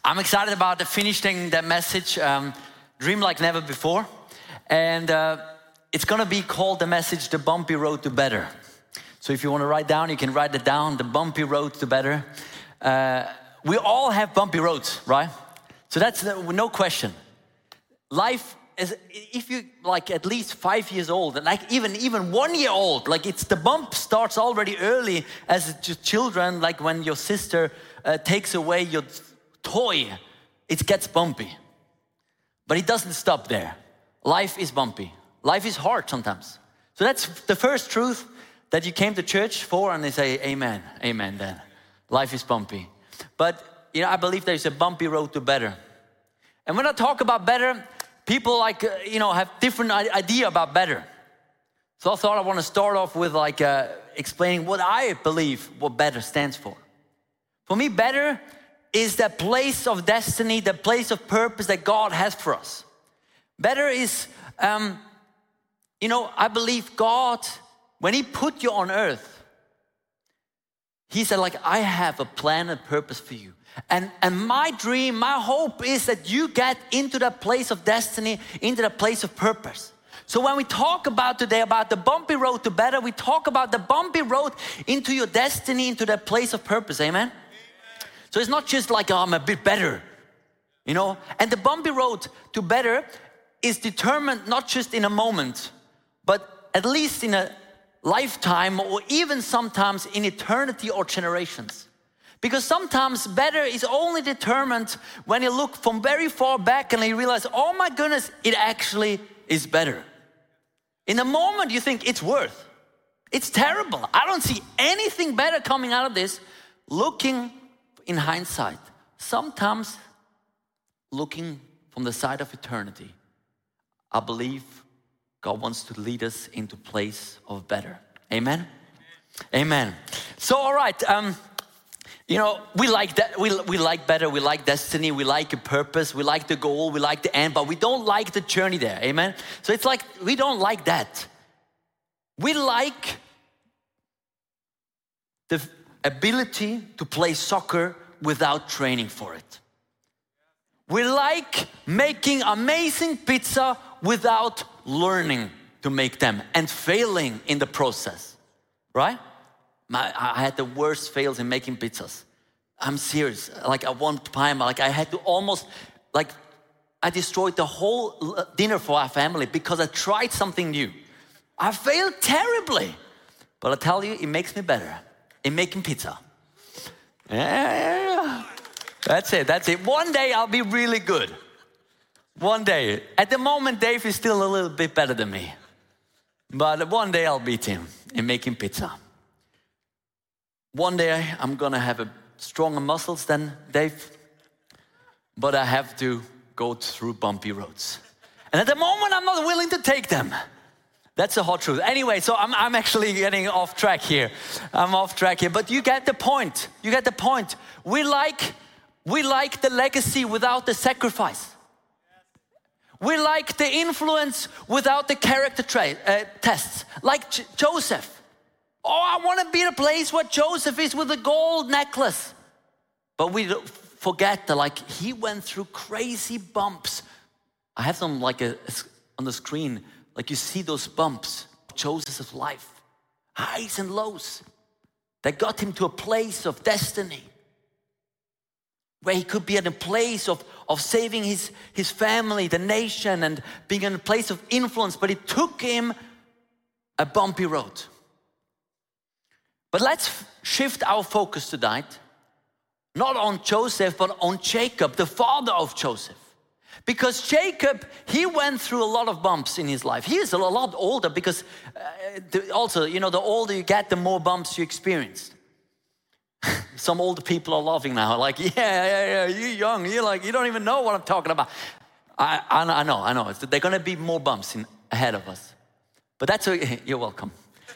I'm excited about finishing that message, Dream Like Never Before. And it's going to be called the message, The Bumpy Road to Better. So if you want to write down, you can write it down, The Bumpy Road to Better. We all have bumpy roads, right? So that's no question. Life is, if you like at least 5 years old, and like even 1 year old, like it's the bump starts already early as children, like when your sister takes away your toy, it gets bumpy. But it doesn't stop there. Life is bumpy. Life is hard sometimes. So that's the first truth that you came to church for, and they say, amen, amen then. Life is bumpy. But, I believe there's a bumpy road to better. And when I talk about better, people have different idea about better. So I thought I want to start off with explaining what I believe what better stands for. For me, better is that place of destiny, the place of purpose that God has for us. Better is, I believe God, when He put you on earth, He said, I have a plan and purpose for you. And my dream, my hope is that you get into that place of destiny, into that place of purpose. So when we talk about today about the bumpy road to better, we talk about the bumpy road into your destiny, into that place of purpose, amen? So it's not just I'm a bit better, And the bumpy road to better is determined not just in a moment, but at least in a lifetime, or even sometimes in eternity or generations. Because sometimes better is only determined when you look from very far back and you realize, oh my goodness, it actually is better. In the moment you think it's worth. It's terrible. I don't see anything better coming out of this. Looking in hindsight, sometimes looking from the side of eternity, I believe God wants to lead us into a place of better. Amen? Amen. So, all right, we like that. We like better. We like destiny. We like a purpose. We like the goal. We like the end, but we don't like the journey there. Amen? So it's we don't like that. We like the ability to play soccer without training for it. We like making amazing pizza without learning to make them and failing in the process, right? I had the worst fails in making pizzas. I'm serious. At one time, I had to almost, I destroyed the whole dinner for our family because I tried something new. I failed terribly, but I tell you, it makes me better in making pizza. Yeah. That's it. One day I'll be really good. One day. At the moment, Dave is still a little bit better than me. But one day I'll beat him in making pizza. One day I'm gonna have stronger muscles than Dave. But I have to go through bumpy roads. And at the moment, I'm not willing to take them. That's the hot truth. Anyway, so I'm actually getting off track here. But you get the point. We like the legacy without the sacrifice. We like the influence without the character tests. Like Joseph. Oh, I want to be in a place where Joseph is with a gold necklace. But we forget that he went through crazy bumps. I have them on the screen. You see those bumps, Joseph's life, highs and lows, that got him to a place of destiny, where he could be at a place of saving his family, the nation, and being in a place of influence, but it took him a bumpy road. But let's shift our focus tonight, not on Joseph, but on Jacob, the father of Joseph. Because Jacob, he went through a lot of bumps in his life. He is a lot older because the older you get, the more bumps you experience. Some older people are laughing now, yeah, you're young. You don't even know what I'm talking about. I know. There are going to be more bumps ahead of us. But that's okay. You're welcome.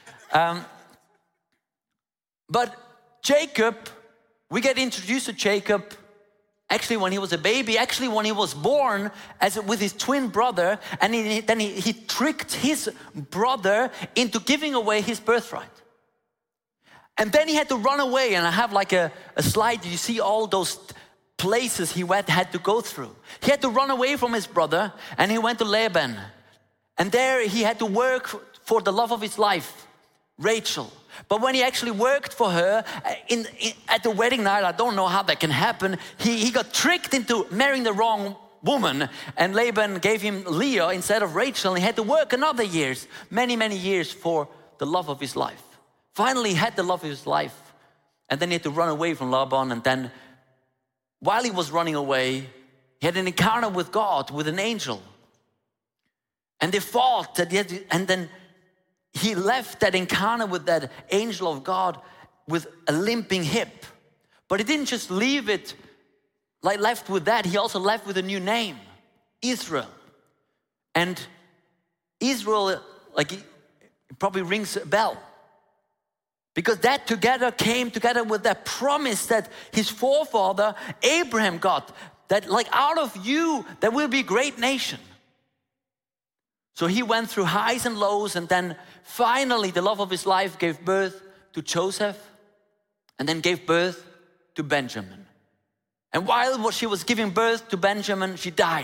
But Jacob, we get introduced to Jacob actually when he was a baby, actually when he was born with his twin brother, and then he tricked his brother into giving away his birthright. And then he had to run away, and I have a slide. You see all those places he had to go through. He had to run away from his brother, and he went to Laban. And there he had to work for the love of his life, Rachel. But when he actually worked for her at the wedding night, I don't know how that can happen, he got tricked into marrying the wrong woman, and Laban gave him Leah instead of Rachel, and he had to work another years, many, many years for the love of his life. Finally, he had the love of his life, and then he had to run away from Laban, and then while he was running away, he had an encounter with God, with an angel. And they fought, and then he left that encounter with that angel of God with a limping hip. But he didn't just leave it left with that, he also left with a new name, Israel. And Israel, it probably rings a bell. Because that came together with that promise that his forefather Abraham got, that out of you there will be a great nation. So he went through highs and lows, and then finally the love of his life gave birth to Joseph, and then gave birth to Benjamin. And while she was giving birth to Benjamin, she died.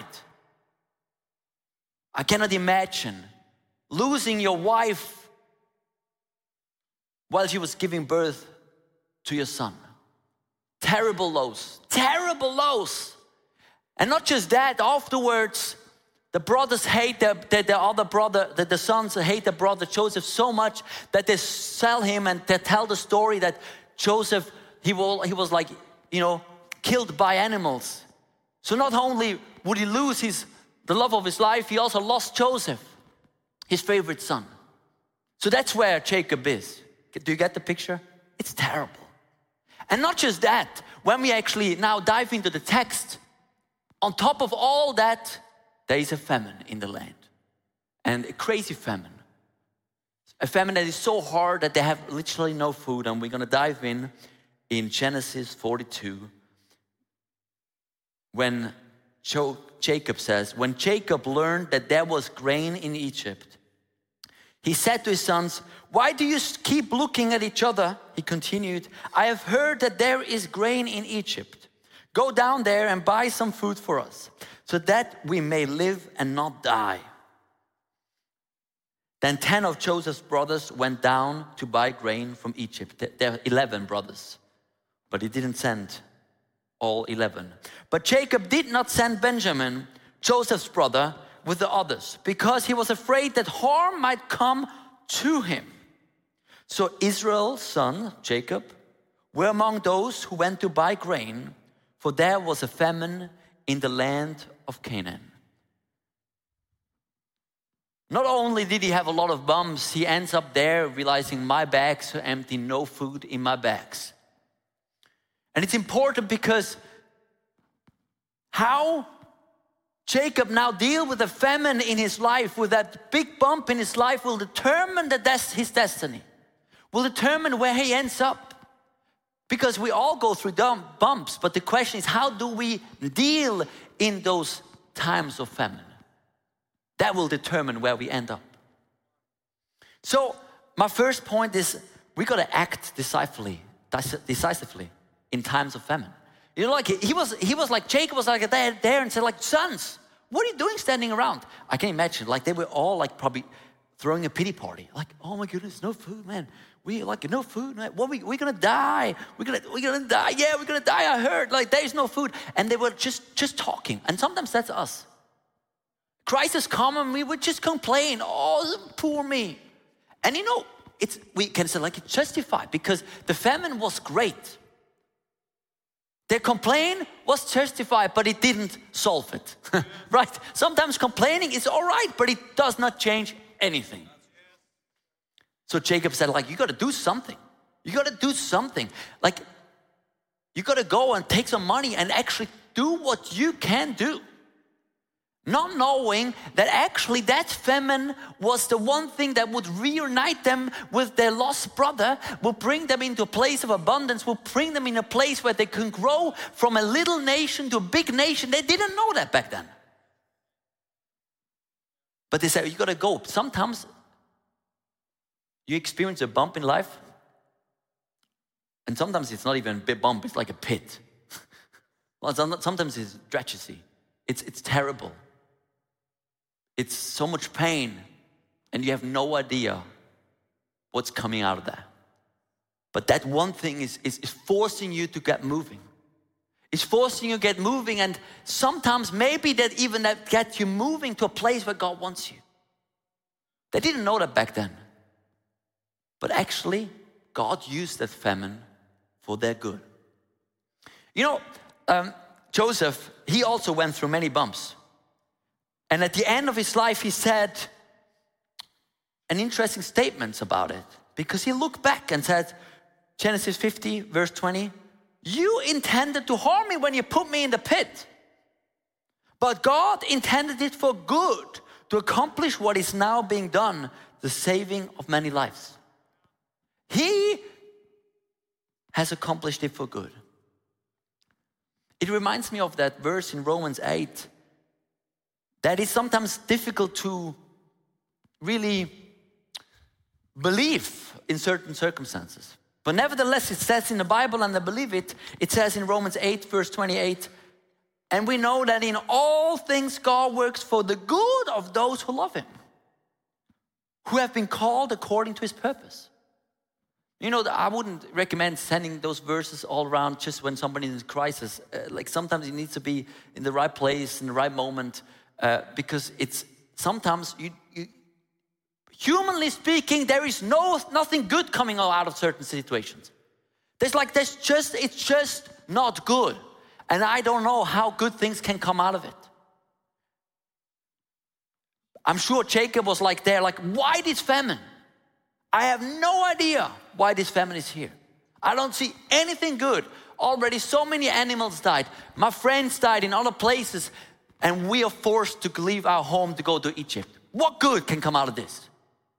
I cannot imagine losing your wife while she was giving birth to your son. Terrible lows, terrible lows. And not just that, afterwards, the brothers hate the other brother, the sons hate the brother Joseph so much that they sell him, and they tell the story that Joseph, he was killed by animals. So not only would he lose the love of his life, he also lost Joseph, his favorite son. So that's where Jacob is. Do you get the picture? It's terrible. And not just that, when we actually now dive into the text, on top of all that, there is a famine in the land. And a crazy famine. A famine that is so hard that they have literally no food. And we're going to dive in Genesis 42. When Jacob says, when Jacob learned that there was grain in Egypt, he said to his sons, "Why do you keep looking at each other?" He continued, "I have heard that there is grain in Egypt. Go down there and buy some food for us, so that we may live and not die." Then 10 of Joseph's brothers went down to buy grain from Egypt. There are 11 brothers, but he didn't send all 11. But Jacob did not send Benjamin, Joseph's brother, with the others, because he was afraid that harm might come to him. So Israel's son, Jacob, were among those who went to buy grain, for there was a famine in the land of Canaan. Not only did he have a lot of bumps, he ends up there realizing my bags are empty, no food in my bags. And it's important because how Jacob now deal with the famine in his life, with that big bump in his life, will determine his destiny, will determine where he ends up. Because we all go through bumps, but the question is, how do we deal in those times of famine? That will determine where we end up. So my first point is, we got to act decisively in times of famine. Jacob was there and said, "Sons, what are you doing standing around?" I can imagine, they were all probably throwing a pity party. "Oh my goodness, no food, man. We no food, man. What we're gonna die. We're gonna die. Yeah, we're gonna die. I heard there's no food." And they were just talking. And sometimes that's us. Crisis come and we would just complain. "Oh, poor me." And we can say it's justified because the famine was great. Their complaint was justified, but it didn't solve it, right? Sometimes complaining is all right, but it does not change anything. So Jacob said, you got to do something. You got to do something. You got to go and take some money and actually do what you can do. Not knowing that actually that famine was the one thing that would reunite them with their lost brother, will bring them into a place of abundance, will bring them in a place where they can grow from a little nation to a big nation. They didn't know that back then. But they said, you got to go. Sometimes you experience a bump in life, and sometimes it's not even a big bump, it's like a pit. Well, sometimes it's tragedy. It's terrible. It's so much pain, and you have no idea what's coming out of that. But that one thing is forcing you to get moving. It's forcing you to get moving, and sometimes maybe that gets you moving to a place where God wants you. They didn't know that back then. But actually, God used that famine for their good. You know, Joseph, he also went through many bumps. And at the end of his life, he said an interesting statement about it. Because he looked back and said, Genesis 50, verse 20, you intended to harm me when you put me in the pit. But God intended it for good, to accomplish what is now being done, the saving of many lives. He has accomplished it for good. It reminds me of that verse in Romans 8 that is sometimes difficult to really believe in certain circumstances. But nevertheless, it says in the Bible, and I believe it, it says in Romans 8, verse 28, and we know that in all things God works for the good of those who love Him, who have been called according to His purpose. You know, I wouldn't recommend sending those verses all around just when somebody is in crisis. Like sometimes it needs to be in the right place, in the right moment, because it's sometimes humanly speaking, there is nothing good coming out of certain situations. It's just not good. And I don't know how good things can come out of it. I'm sure Jacob was like, why this famine? I have no idea why this famine is here. I don't see anything good. Already so many animals died. My friends died in other places. And we are forced to leave our home to go to Egypt. What good can come out of this?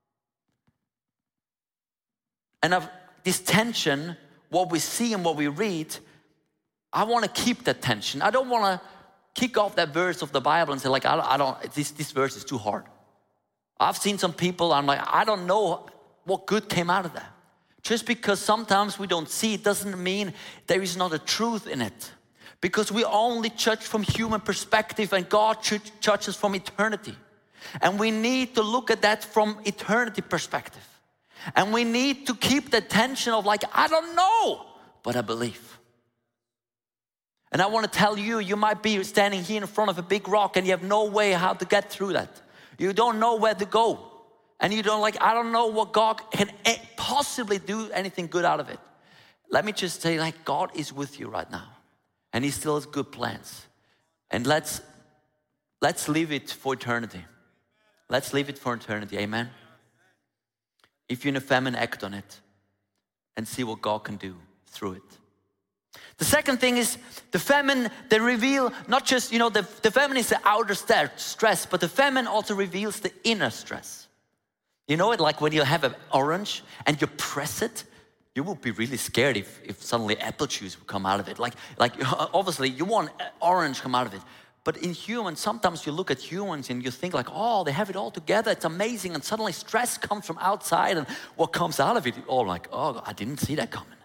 And of this tension, what we see and what we read, I want to keep that tension. I don't want to kick off that verse of the Bible and say this verse is too hard. I've seen some people, I'm like, I don't know what good came out of that. Just because sometimes we don't see it doesn't mean there is not a truth in it. Because we only judge from human perspective and God judges from eternity. And we need to look at that from eternity perspective. And we need to keep the tension of I don't know, but I believe. And I want to tell you, you might be standing here in front of a big rock and you have no way how to get through that. You don't know where to go. And you don't I don't know what God can possibly do anything good out of it. Let me just say God is with you right now. And He still has good plans. And let's leave it for eternity. Let's leave it for eternity, amen? If you're in a famine, act on it. And see what God can do through it. The second thing is the famine, they reveal not just, the famine is the outer stress, but the famine also reveals the inner stress. You know it, like when you have an orange and you press it, you would be really scared if suddenly apple juice would come out of it. Like obviously you want orange come out of it. But in humans, sometimes you look at humans and you think oh, they have it all together, it's amazing. And suddenly stress comes from outside and what comes out of it, all oh, I didn't see that coming.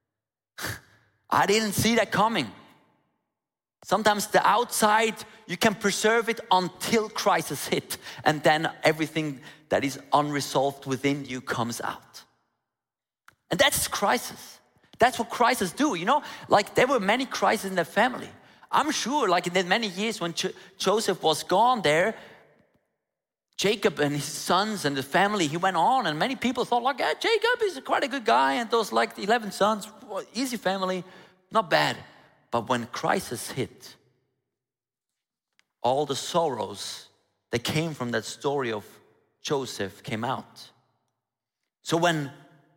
I didn't see that coming. Sometimes the outside, you can preserve it until crisis hit. And then everything that is unresolved within you comes out. And that's crisis. That's what crises do, there were many crises in the family. I'm sure in the many years when Joseph was gone there, Jacob and his sons and the family, he went on and many people thought Jacob is quite a good guy and those 11 sons, easy family, not bad. But when crisis hit, all the sorrows that came from that story of Joseph came out. So when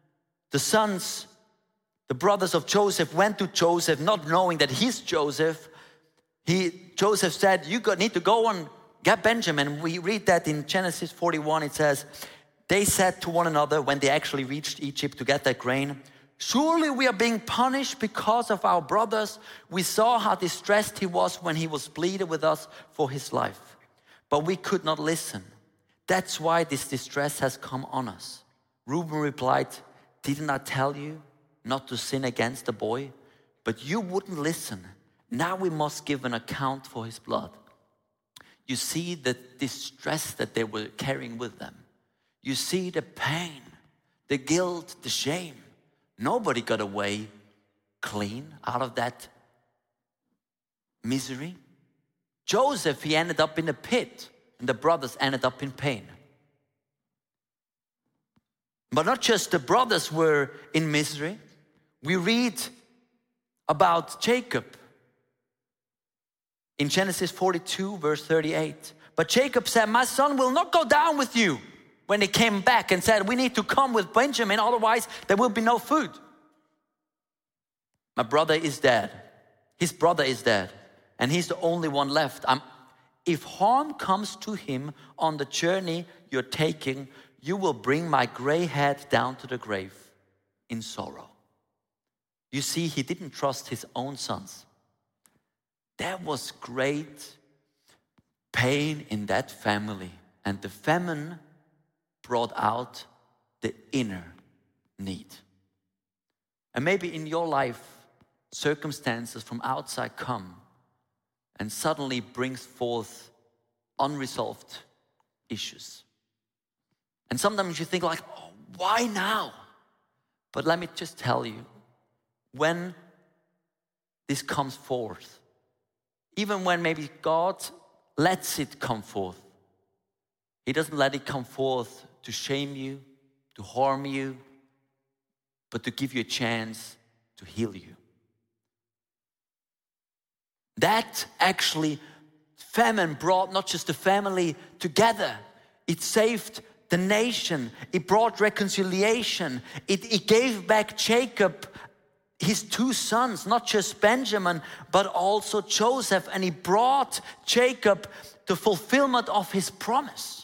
the brothers of Joseph went to Joseph, not knowing that he's Joseph, Joseph said, you need to go and get Benjamin. We read that in Genesis 41, it says, they said to one another when they actually reached Egypt to get that grain, surely we are being punished because of our brothers. We saw how distressed he was when he was pleading with us for his life. But we could not listen. That's why this distress has come on us. Reuben replied, didn't I tell you not to sin against the boy? But you wouldn't listen. Now we must give an account for his blood. You see the distress that they were carrying with them. You see the pain, the guilt, the shame. Nobody got away clean out of that misery. Joseph, he ended up in a pit, and the brothers ended up in pain. But not just the brothers were in misery. We read about Jacob in Genesis 42, verse 38. But Jacob said, my son will not go down with you. When they came back and said, we need to come with Benjamin, otherwise there will be no food. My brother is dead. His brother is dead. And he's the only one left. If harm comes to him on the journey you're taking, you will bring my gray head down to the grave in sorrow. You see, he didn't trust his own sons. There was great pain in that family. And the famine brought out the inner need. And maybe in your life, circumstances from outside come and suddenly brings forth unresolved issues. And sometimes you think like, oh, why now? But let me just tell you, when this comes forth, even when maybe God lets it come forth, he doesn't let it come forth to shame you, to harm you, but to give you a chance to heal you. That actually, famine brought not just the family together, it saved the nation, it brought reconciliation, it gave back Jacob his two sons, not just Benjamin, but also Joseph, and he brought Jacob the fulfillment of his promise.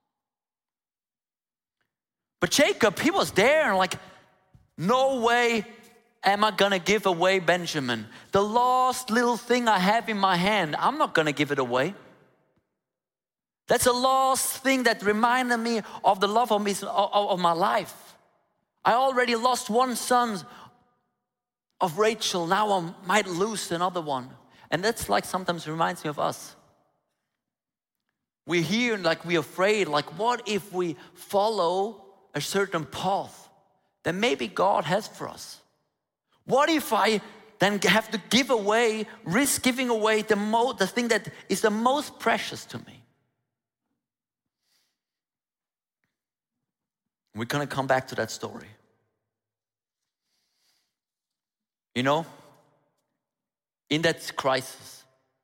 But Jacob, he was there and like, no way am I gonna give away Benjamin. The last little thing I have in my hand, I'm not gonna give it away. That's the last thing that reminded me of the love of my life. I already lost one son of Rachel, now I might lose another one. And that's like sometimes reminds me of us. We're here and like we're afraid, like what if we follow a certain path that maybe God has for us? What if I then have to give away, risk giving away the thing that is the most precious to me? We're gonna come back to that story. You know, in that crisis,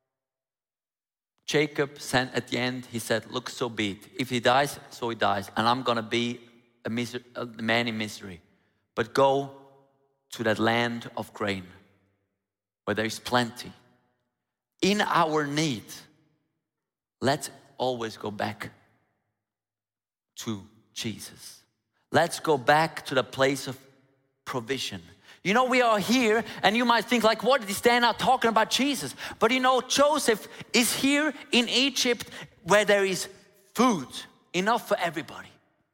Jacob sent at the end, he said, look, so be it. If he dies, so he dies. And I'm gonna be a man in misery. But go to that land of grain where there is plenty. In our need, let's always go back to Jesus. Let's go back to the place of provision. You know, we are here and you might think like, what is Dan now talking about Jesus? But you know, Joseph is here in Egypt where there is food, enough for everybody.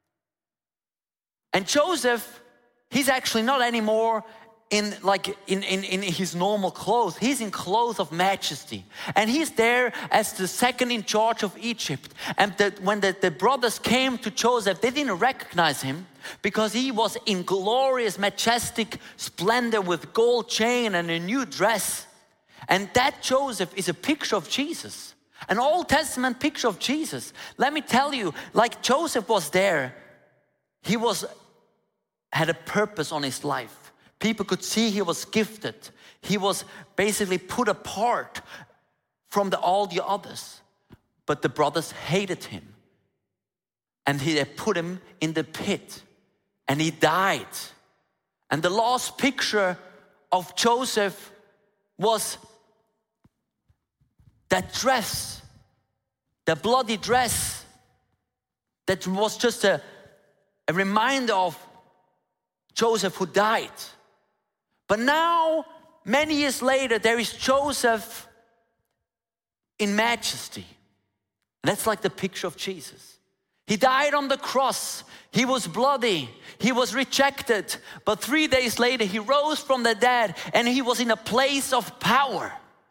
And Joseph, he's actually not anymore in his normal clothes. He's in clothes of majesty. And he's there as the second in charge of Egypt. And when the brothers came to Joseph, they didn't recognize him because he was in glorious, majestic splendor with gold chain and a new dress. And that Joseph is a picture of Jesus. An Old Testament picture of Jesus. Let me tell you, like Joseph was there, he had a purpose on his life. People could see he was gifted. He was basically put apart from all the others. But the brothers hated him. And they put him in the pit. And he died. And the last picture of Joseph was that dress, the bloody dress, that was just a reminder of Joseph who died. But now, many years later, there is Joseph in majesty. That's like the picture of Jesus. He died on the cross. He was bloody. He was rejected. But 3 days later, he rose from the dead and he was in a place of power.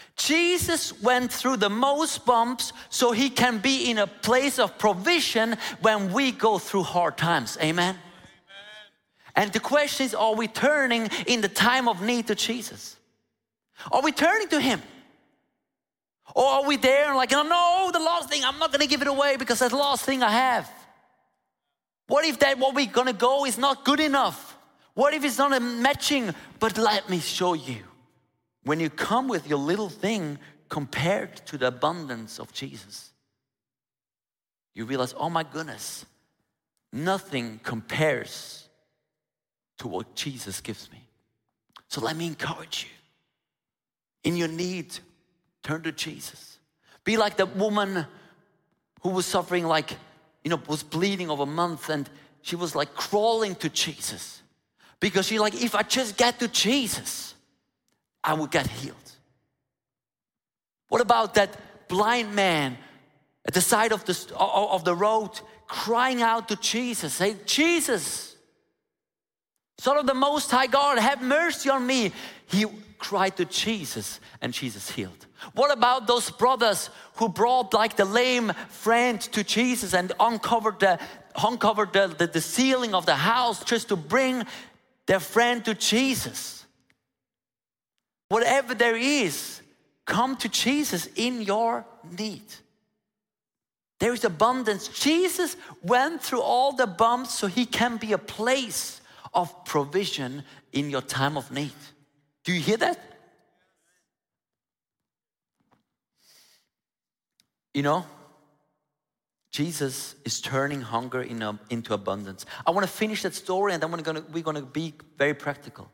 Jesus went through the most bumps so he can be in a place of provision when we go through hard times. Amen? And the question is, are we turning in the time of need to Jesus? Are we turning to him? Or are we there and like, no, the last thing, I'm not going to give it away because that's the last thing I have. What if that what we're going to go is not good enough? What if it's not a matching? But let me show you. When you come with your little thing compared to the abundance of Jesus, you realize, oh my goodness, nothing compares to what Jesus gives me. So let me encourage you. In your need, turn to Jesus. Be like the woman who was suffering was bleeding over a month, and she was like crawling to Jesus. Because she's like, if I just get to Jesus, I will get healed. What about that blind man at the side of the road crying out to Jesus, saying, Jesus, Son of the Most High God, have mercy on me. He cried to Jesus and Jesus healed. What about those brothers who brought like the lame friend to Jesus and uncovered the ceiling of the house just to bring their friend to Jesus? Whatever there is, come to Jesus in your need. There is abundance. Jesus went through all the bumps so he can be a place of provision in your time of need. Do you hear that? You know, Jesus is turning hunger into abundance. I want to finish that story and then we're going to be very practical.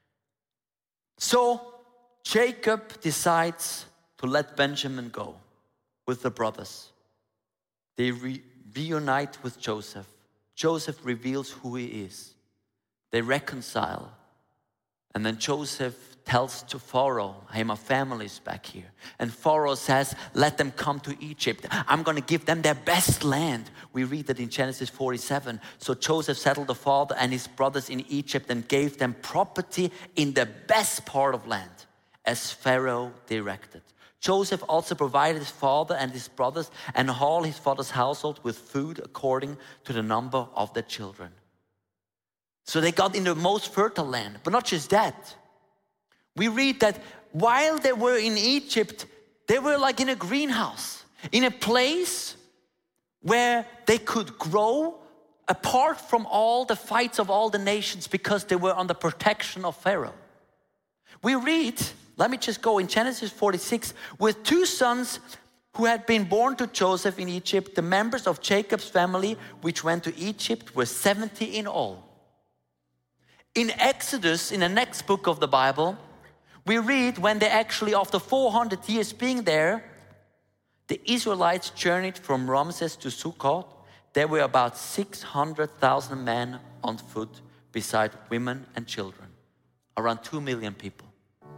So Jacob decides to let Benjamin go with the brothers. They reunite with Joseph. Joseph reveals who he is. They reconcile. And then Joseph tells to Pharaoh, hey, my family's back here. And Pharaoh says, let them come to Egypt. I'm going to give them their best land. We read that in Genesis 47. So Joseph settled the father and his brothers in Egypt and gave them property in the best part of land, as Pharaoh directed. Joseph also provided his father and his brothers and all his father's household with food according to the number of their children. So they got in the most fertile land. But not just that. We read that while they were in Egypt, they were like in a greenhouse, in a place where they could grow apart from all the fights of all the nations because they were under protection of Pharaoh. We read, let me just go in Genesis 46, with two sons who had been born to Joseph in Egypt, the members of Jacob's family, which went to Egypt, were 70 in all. In Exodus, in the next book of the Bible, we read when they actually, after 400 years being there, the Israelites journeyed from Ramses to Sukkot. There were about 600,000 men on foot, beside women and children. Around 2 million people.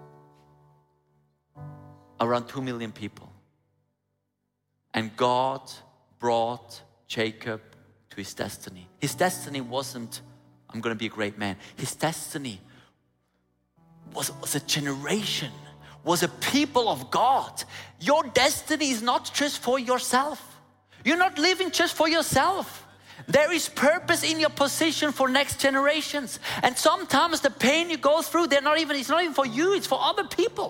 Around 2 million people. And God brought Jacob to his destiny. His destiny wasn't, I'm going to be a great man. His destiny was a generation, was a people of God. Your destiny is not just for yourself. You're not living just for yourself. There is purpose in your position for next generations. And sometimes the pain you go through, it's not even for you, it's for other people.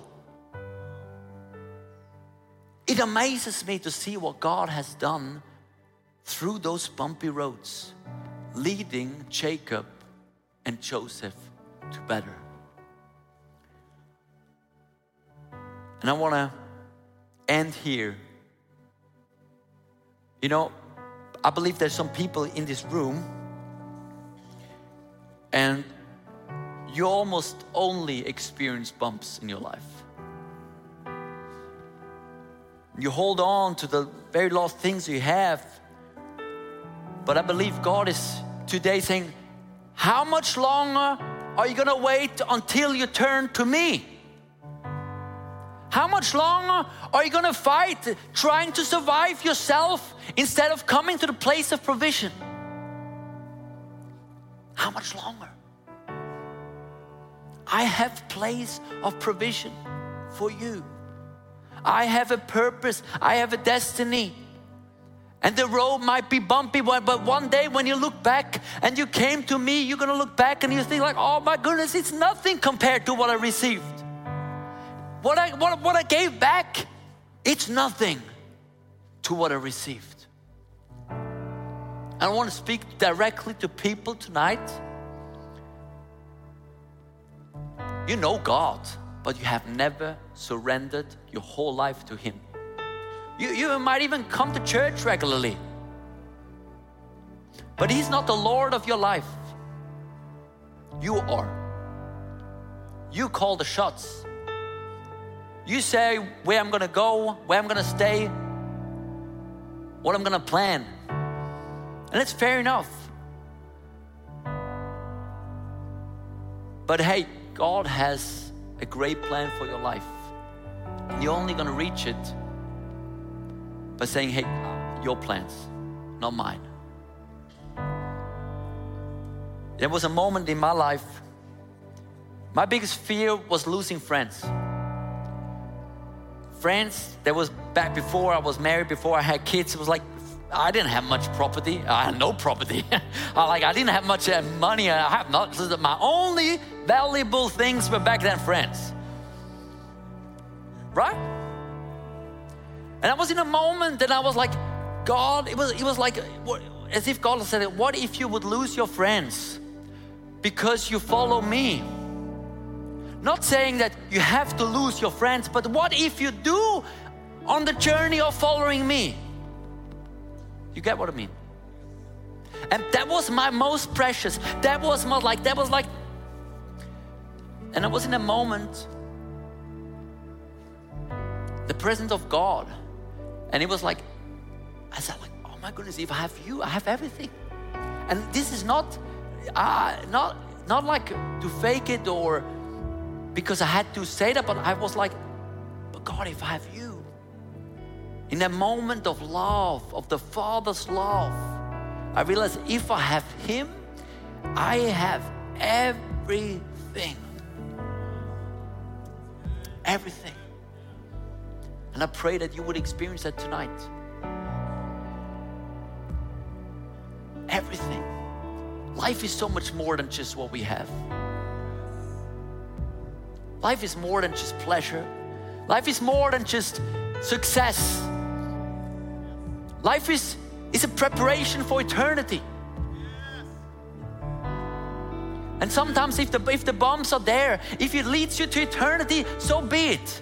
It amazes me to see what God has done through those bumpy roads, leading Jacob and Joseph to better. And I want to end here. You know, I believe there's some people in this room and you almost only experience bumps in your life. You hold on to the very last things you have. But I believe God is today saying, how much longer are you going to wait until you turn to me? How much longer are you going to fight trying to survive yourself instead of coming to the place of provision? How much longer? I have place of provision for you. I have a purpose. I have a destiny. And the road might be bumpy, but one day when you look back and you came to me, you're going to look back and you think like, oh my goodness, it's nothing compared to what I received. What I gave back, it's nothing to what I received. And I want to speak directly to people tonight. You know God, but you have never surrendered your whole life to Him. You might even come to church regularly, but He's not the Lord of your life. You are. You call the shots. You say where I'm going to go, where I'm going to stay, what I'm going to plan. And it's fair enough. But hey, God has a great plan for your life. And you're only going to reach it by saying, hey, your plans, not mine. There was a moment in my life, my biggest fear was losing friends. Friends, that was back before I was married, before I had kids. It was like, I didn't have much property. I had no property. I didn't have much money. I have not. My only valuable things were back then friends. Right? And I was in a moment that I was like, God, it was like, as if God said, what if you would lose your friends because you follow me? Not saying that you have to lose your friends, but what if you do on the journey of following me? You get what I mean? And that was my most precious. That was like, and I was in a moment, the presence of God. And it was like, I said like, oh my goodness, if I have you, I have everything. And this is not like to fake it or because I had to say that, but I was like, but God, if I have you, in a moment of love, of the Father's love, I realized if I have Him, I have everything. Everything. And I pray that you would experience that tonight. Everything. Life is so much more than just what we have. Life is more than just pleasure. Life is more than just success. Life is a preparation for eternity. And sometimes if the bumps are there, if it leads you to eternity, so be it.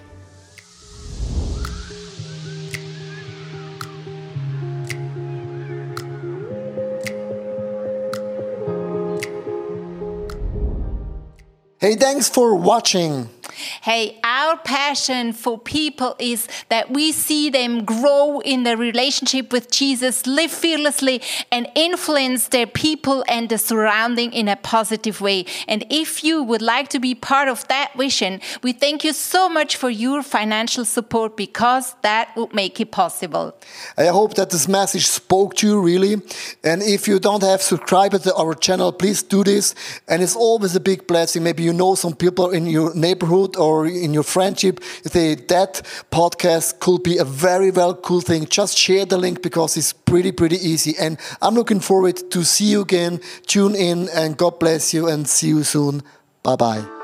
Hey, thanks for watching. Hey, our passion for people is that we see them grow in their relationship with Jesus, live fearlessly, and influence their people and the surrounding in a positive way. And if you would like to be part of that vision, we thank you so much for your financial support because that would make it possible. I hope that this message spoke to you really. And if you don't have subscribed to our channel, please do this. And it's always a big blessing. Maybe you know some people in your neighborhood or in your friendship, you say that podcast could be a very cool thing. Just share the link because it's pretty easy. And I'm looking forward to see you again. Tune in and God bless you and see you soon. Bye-bye.